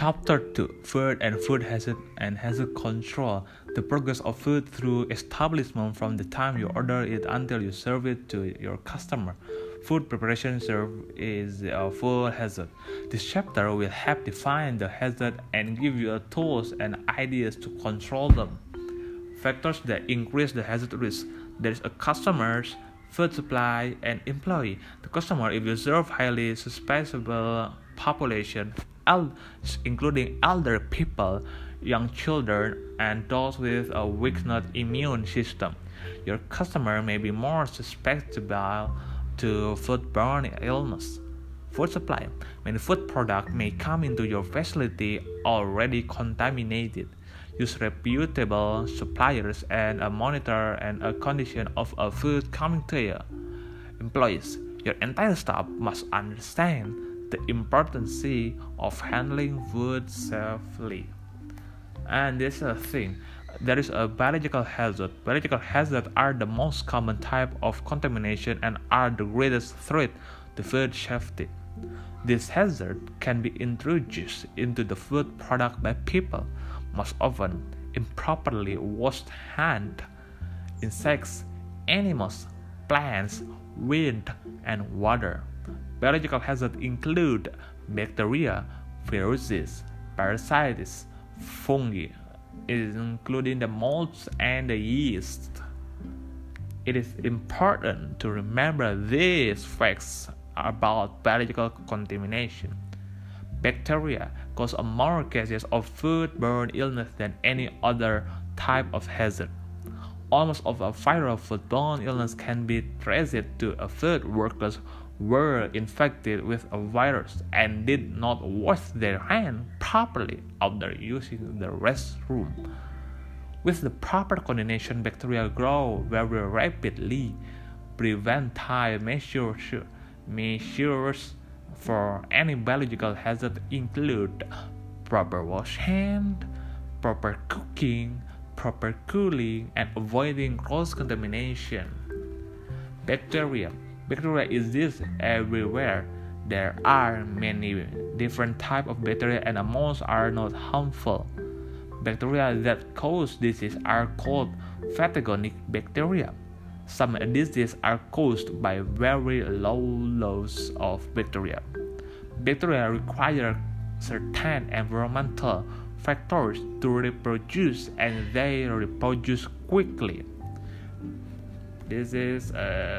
Chapter 2: Food and Food Hazard and Hazard Control. The progress of food through establishment from the time you order it until you serve it to your customer. Food preparation is a food hazard. This chapter will help define the hazard and give you tools and ideas to control them. Factors that increase the hazard risk. There is a customer's food supply and employee. The customer, if you serve highly susceptible population, including elder people, young children, and those with a weakened immune system, your customer may be more susceptible to foodborne illness. Food supply. Many food products may come into your facility already contaminated. Use reputable suppliers and monitor and a condition of a food coming to you. Employees. Your entire staff must understand the importance of handling food safely. And this is a thing. There is a biological hazard. Biological hazards are the most common type of contamination and are the greatest threat to food safety. This hazard can be introduced into the food product by people, most often improperly washed hands, insects, animals, plants, wind, and water. Biological hazards include bacteria, viruses, parasites, fungi, including the molds and the yeast. It is important to remember these facts about biological contamination. Bacteria cause more cases of foodborne illness than any other type of hazard. Almost all viral foodborne illness can be traced to food workers were infected with a virus and did not wash their hands properly after using the restroom. With the proper coordination, bacteria grow very rapidly. Preventive measures for any biological hazard include proper wash hand, proper cooking, proper cooling, and avoiding cross-contamination. Bacteria exist everywhere. There are many different types of bacteria and most are not harmful. Bacteria that cause disease are called pathogenic bacteria. Some diseases are caused by very low levels of bacteria. Bacteria require certain environmental factors to reproduce, and they reproduce quickly. This is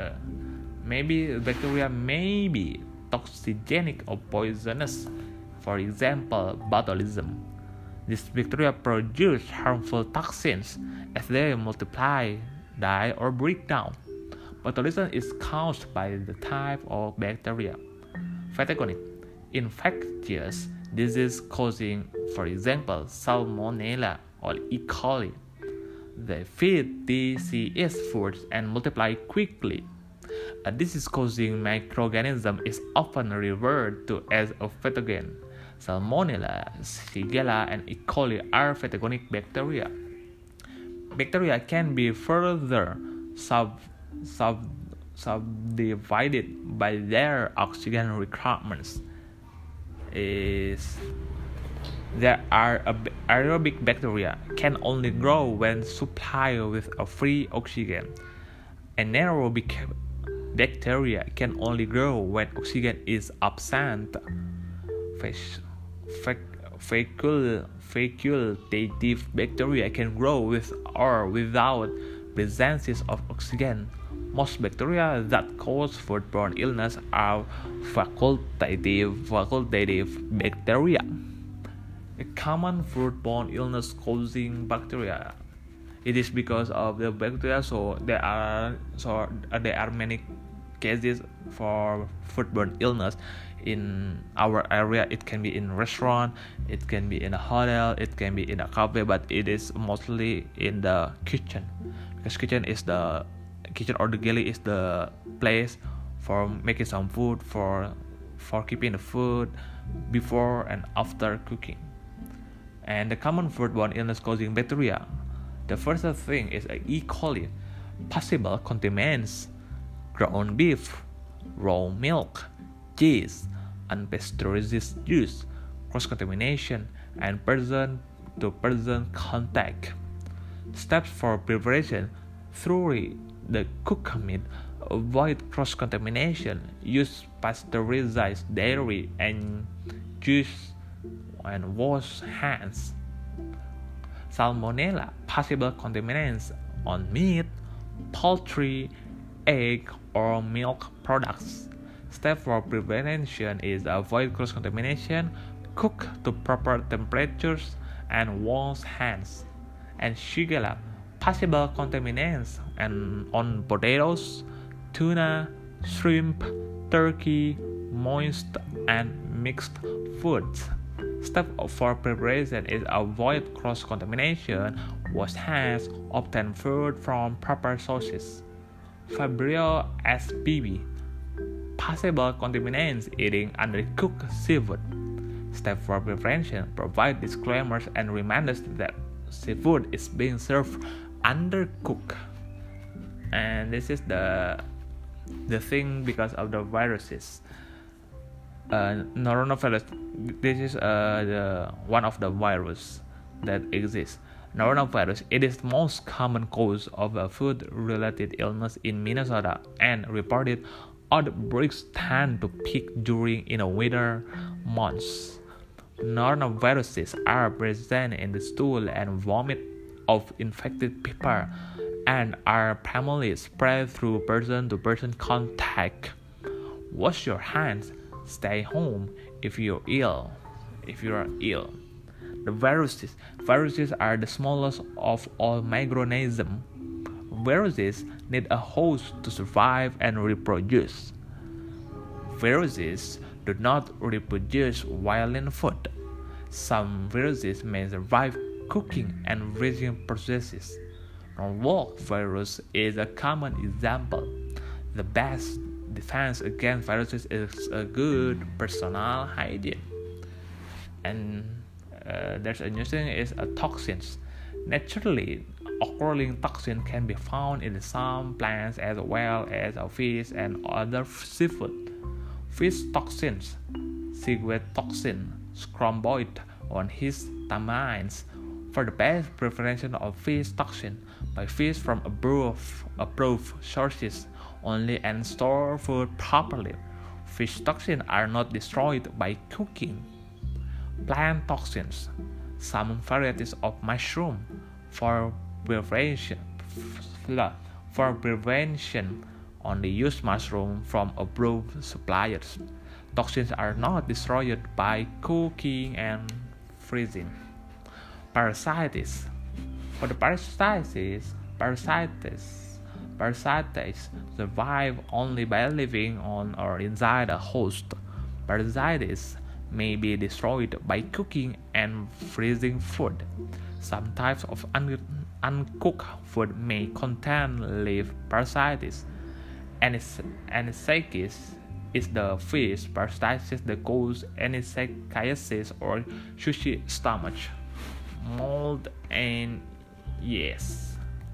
maybe bacteria may be toxigenic or poisonous. For example, botulism. These bacteria produce harmful toxins as they multiply, die, or break down. Botulism is caused by the type of bacteria. Pathogenic. Infectious disease causing, for example, Salmonella or E. coli. They feed disease foods and multiply quickly. A disease-causing microorganism is often referred to as a pathogen. Salmonella, Shigella, and E. coli are pathogenic bacteria. Bacteria can be further subdivided by their oxygen requirements. There are aerobic bacteria can only grow when supplied with a free oxygen. Anaerobic bacteria can only grow when oxygen is absent. Facultative bacteria can grow with or without presence of oxygen. Most bacteria that cause foodborne illness are facultative bacteria. A common foodborne illness causing bacteria. It is because of the bacteria, so there are many cases for foodborne illness in our area. It can be in restaurant, it can be in a hotel, it can be in a cafe, but it is mostly in the kitchen, because kitchen or the galley is the place for making some food, for keeping the food before and after cooking. And the common foodborne illness causing bacteria. The first thing is E. coli. Possible contaminants: ground beef, raw milk, cheese, unpasteurized juice, cross-contamination, and person-to-person contact. Steps for preparation: thoroughly the cooked meat, avoid cross-contamination, use pasteurized dairy and juice, and wash hands. Salmonella, possible contaminants on meat, poultry, egg, or milk products. Step for prevention is avoid cross-contamination, cook to proper temperatures, and wash hands. And Shigella, possible contaminants on potatoes, tuna, shrimp, turkey, moist, and mixed foods. Step for preparation is avoid cross-contamination, wash hands, obtain food from proper sources. Fabrio SPB, possible contaminants eating undercooked seafood. Step for prevention: provide disclaimers and reminders that seafood is being served undercooked. And this is the thing because of the viruses. Norovirus. This is one of the virus that exists. Norovirus. It is the most common cause of a food-related illness in Minnesota, and reported outbreaks tend to peak during winter months. Noroviruses are present in the stool and vomit of infected people and are primarily spread through person-to-person contact. Wash your hands. Stay home if you are ill. The viruses are the smallest of all microorganisms. Viruses need a host to survive and reproduce. Viruses do not reproduce while in food. Some viruses may survive cooking and freezing processes. Norwalk virus is a common example. The best defense against viruses is a good personal hygiene. And there's a new thing is toxins. Naturally occurring toxins can be found in some plants as well as fish and other seafood. Fish toxins, seaweed toxin, scromboid on histamines. For the best prevention of fish toxin, buy fish from approved sources only and store food properly. Fish toxins are not destroyed by cooking. Plant toxins. Some varieties of mushroom for prevention only use mushroom from approved suppliers. Toxins are not destroyed by cooking and freezing. Parasites. For the parasites survive only by living on or inside a host. Parasites may be destroyed by cooking and freezing food. Some types of uncooked food may contain live parasites. Anisakis is the fish parasites that cause anisakiasis or sushi stomach. Mold and yeast.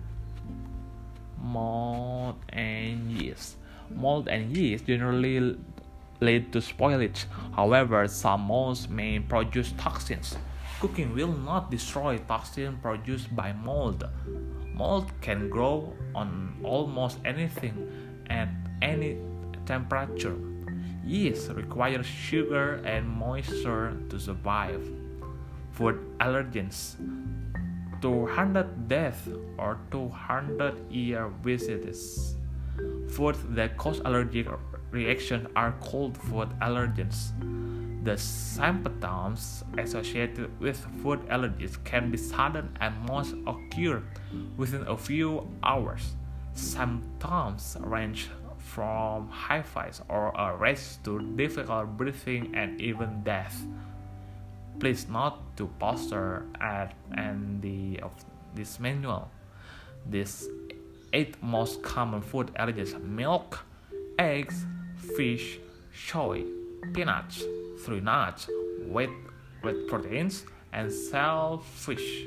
Mold and yeast generally lead to spoilage. However, some molds may produce toxins. Cooking will not destroy toxins produced by mold. Mold can grow on almost anything at any temperature. Yeast requires sugar and moisture to survive. Food allergens. 200 deaths or 200-year visits. Foods that cause allergic reactions are called food allergens. The symptoms associated with food allergies can be sudden and most occur within a few hours. Symptoms range from high fevers or a rash to difficult breathing and even death. Please note the poster at the of this manual. These 8 most common food allergens: milk, eggs, fish, soy, peanuts, tree nuts, wheat proteins, and shellfish.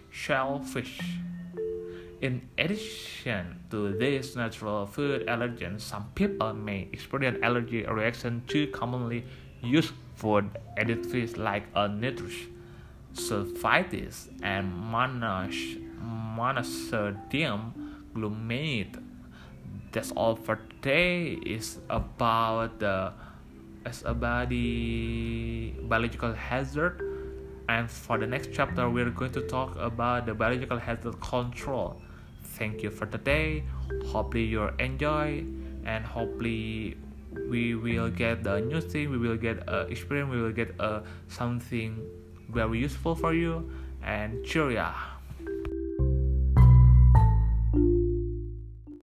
In addition to these natural food allergens, some people may experience allergy reaction to commonly used Food additives like nitrous, sulfites, and monosodium glutamate. That's all for today. The biological hazard, and for the next chapter we're going to talk about the biological hazard control. Thank you for today. Hopefully you enjoy, and hopefully we will get the new thing, we will get experience, we will get something very useful for you. And cheerio.